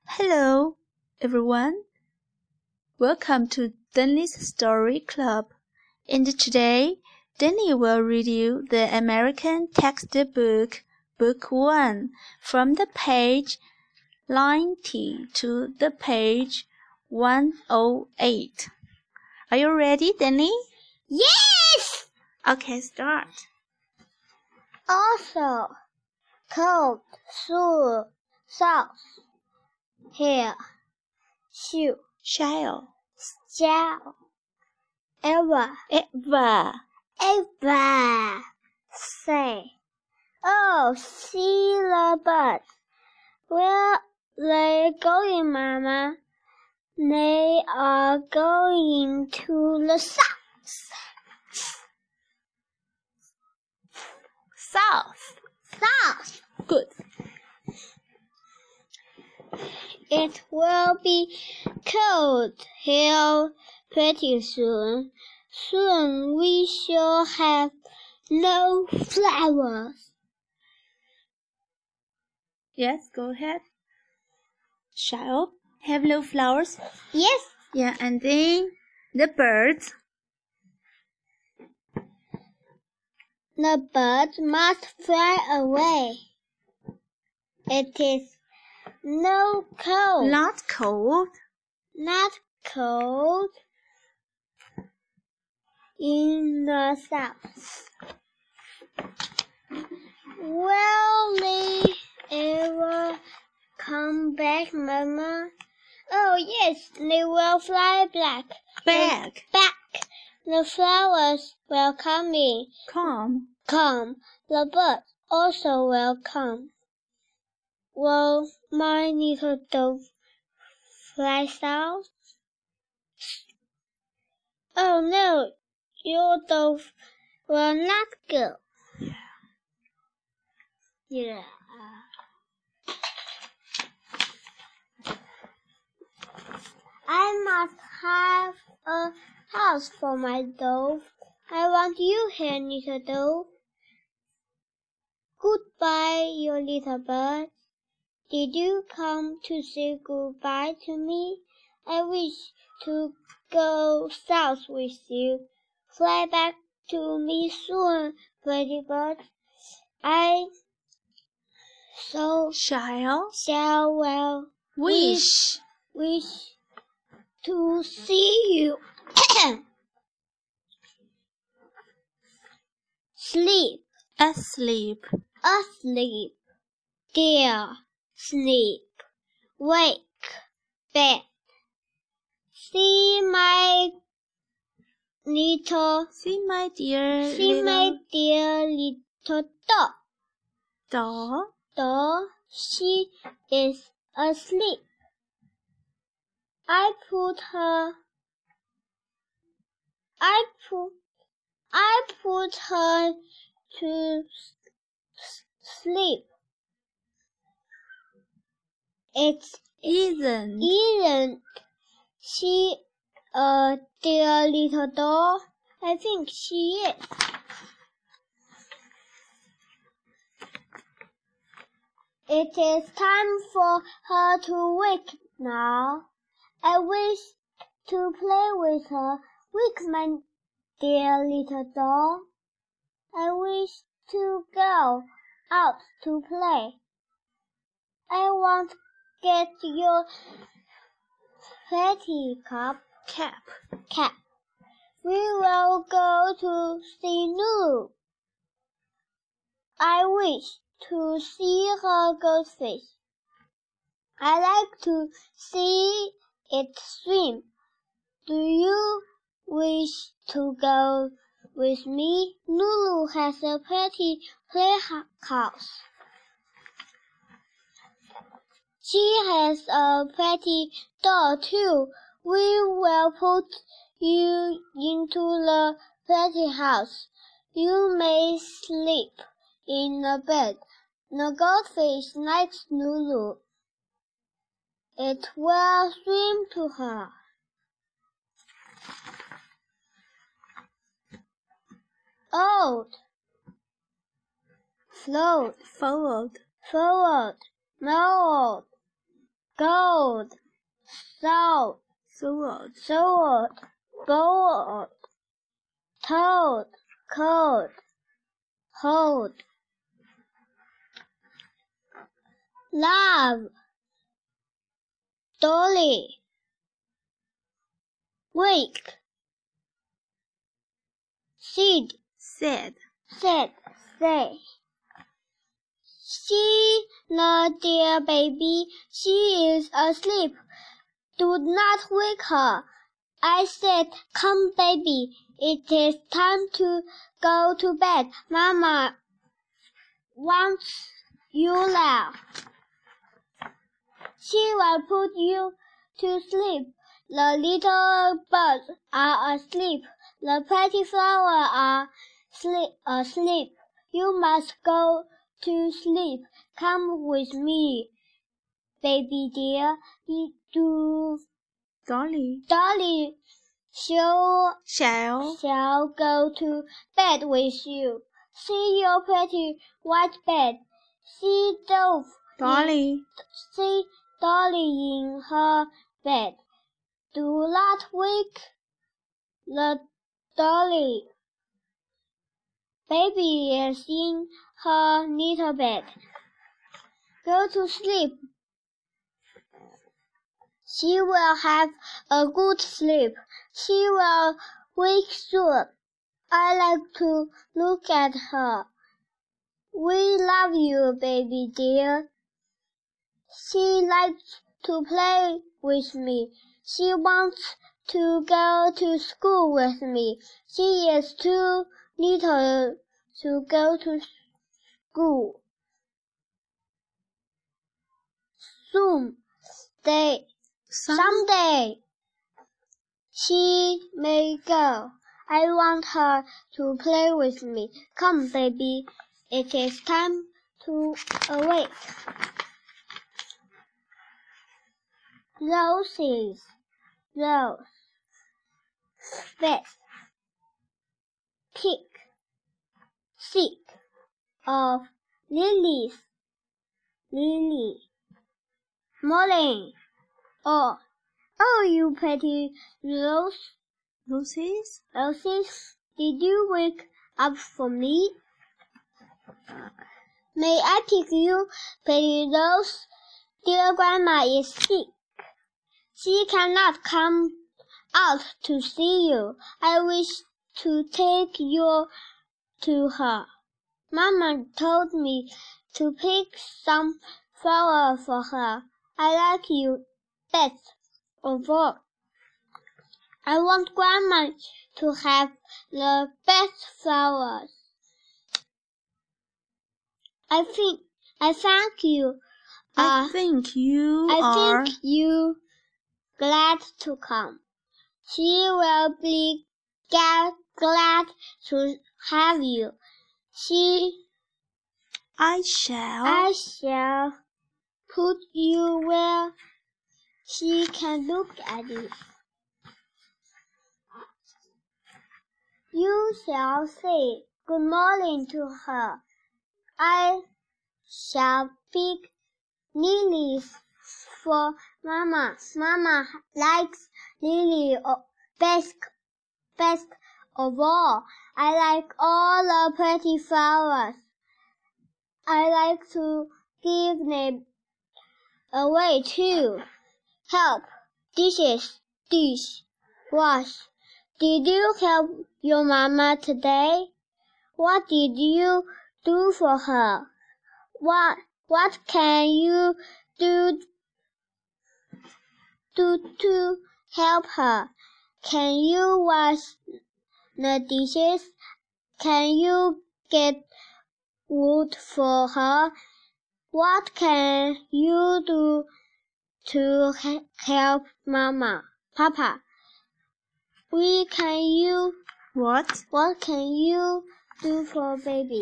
Hello, everyone. Welcome to Danny's Story Club. And today, Danny will read you the American textbook, Book 1, from the page 90 to the page 108. Are you ready, Danny? Yes! Okay, start. Also, cold, soul, sauce, hair, shoe, Shall. shell, ever, say. Oh, see the birds. Where they going, Mama? They are going to the south. South. Good. It will be cold here pretty soon. Soon we shall have no flowers. Yes, go ahead. Shall have no flowers? Yes, Yeah, and then the birds. the birds must fly away. It is no cold. Not cold. Not cold in the south. Will they ever come back, Mama? Oh, yes, they will fly back. Back. The flowers will come in. Come. The birds also will come. Will my little dove fly south? Oh, no, your dove will not go. Yeah. I must have a house for my dove. I want you here, little dove. Goodbye, your little bird. Did you come to say goodbye to me? I wish to go south with you. Fly back to me soon, pretty bird. I so shall well Wish. to see you. Sleep, Asleep. dear, sleep, wake, bed. See my dear little dog. doll. She is asleep. I put her to sleep. Isn't she a dear little doll? I think she is. It is time for her to wake now. I wish to play with her. Wake, my dear little doll. I wish to go out to play. I won't get your fatty cap. We will go to see Lulu. I wish to see her goldfish. I like to see it swim. Do you wish to go with me? Lulu has a pretty playhouse. She has a pretty doll too. We will put you into the pretty house. You may sleep in the bed. The goldfish likes Lulu. It will swim to her. Old, float, Forward. forward, mold, gold. sold, sold, sword, sword, bold, told, cold, hold. Love, dolly, wake, seed, said, said, say. See the dear baby, she is asleep. Do not wake her. I said, come baby, it is time to go to bed. Mama wants you now. She will put you to sleep. The little birds are asleep. The pretty flowers are asleep. You must go to sleep. Come with me, baby dear. Dolly, Dolly shall go to bed with you. See your pretty white bed. See Dolly, see Dolly in her bed. Do not wake the Dolly. Baby is in her little bed. Go to sleep. She will have a good sleep. She will wake soon. I like to look at her. We love you, baby dear. She likes to play with me. She wants to go to school with me. She is too little to go to school. Someday she may go. I want her to play with me. Come, baby, it is time to awake. Roses, rose, face, pick, seek of lilies, lily, morning. Oh, you pretty roses, did you wake up for me? May I pick you, pretty rose? Dear grandma is sick. She cannot come out to see you. I wish to take you to her. Mama told me to pick some flower for her. I like you best of all. I want Grandma to have the best flowers. I thank you. I think you glad to come. She will be glad to have you. I shall put you where she can look at you. You shall say good morning to her. I shall pick lilies for Mama. Mama likes lily best of all. I like all the pretty flowers. I like to give them away too. Help, dish, wash. Did you help your mama today? What did you do for her? What can you do to help her? Can you wash the dishes? Can you get wood for her? What can you do to help Papa? What can you do for baby?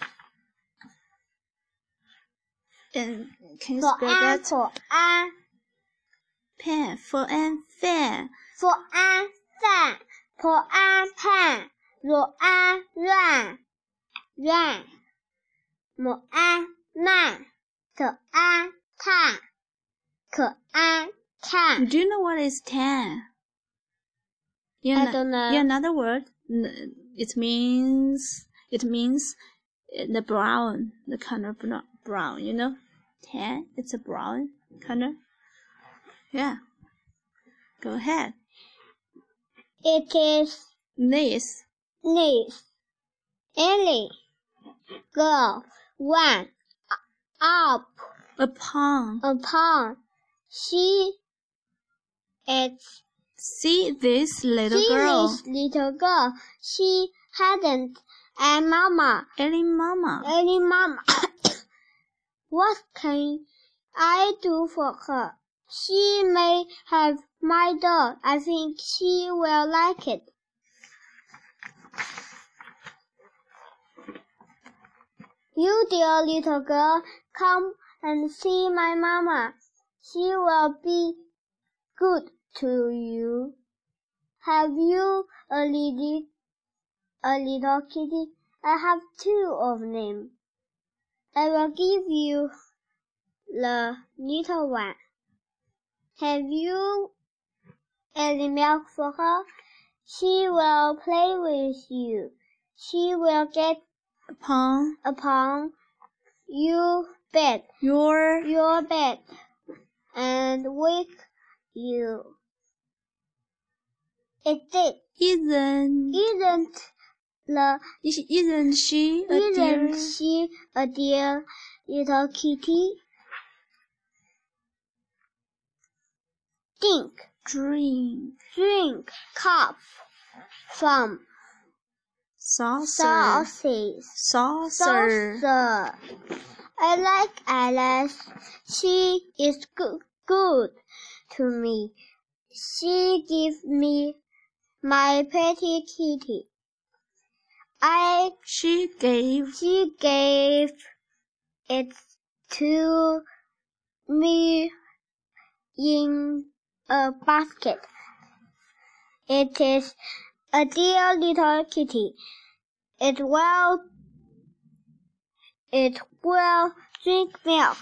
Can you for spell an, that? for an, Pen, for an fan. for an fan, for an pan, 若安乱乱，母安慢，可安看，可可爱看。 Do you know what is tan? I don't know. Yeah, another word. It means the brown, the color brown. You know, tan. It's a brown color. Yeah. Go ahead. It is This. Ellie. Go one up Upon. She is. See this little girl. This little girl. She hadn't a mama. Ellie mama. What can I do for her? She may have my doll. I think she will like it. You dear little girl, come and see my mama. She will be good to you. Have you a little kitty? I have 2 of them. I will give you the little one. Have you any milk for her? She will play with you. She will get upon your bed and wake you. Isn't she a dear little kitty? Drink cup from saucer. I like Alice. She is good to me. She gives me my pretty kitty. She gave it to me in a basket. It is a dear little kitty. It will drink milk.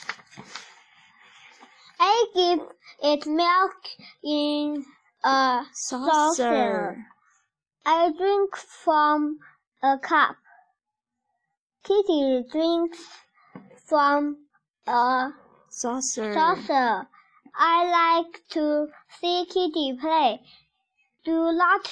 I give it milk in a saucer. I drink from a cup. Kitty drinks from a saucer. I like to see Kitty play. Do not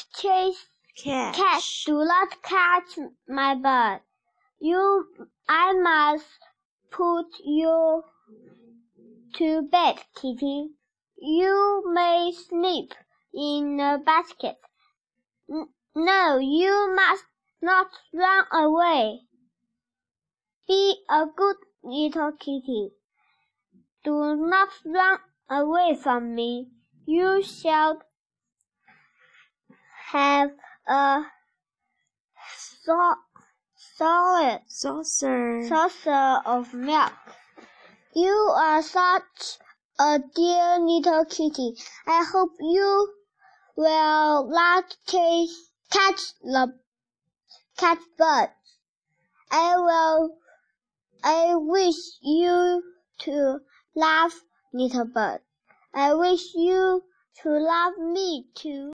catch my bird. I must put you to bed, Kitty. You may sleep in a basket. No, you must not run away. Be a good little kitty. Do not run away from me. You shall have a solid saucer of milk. You are such a dear little kitty. I hope you will not catch birds. I wish you to love little bird. I wish you to love me too.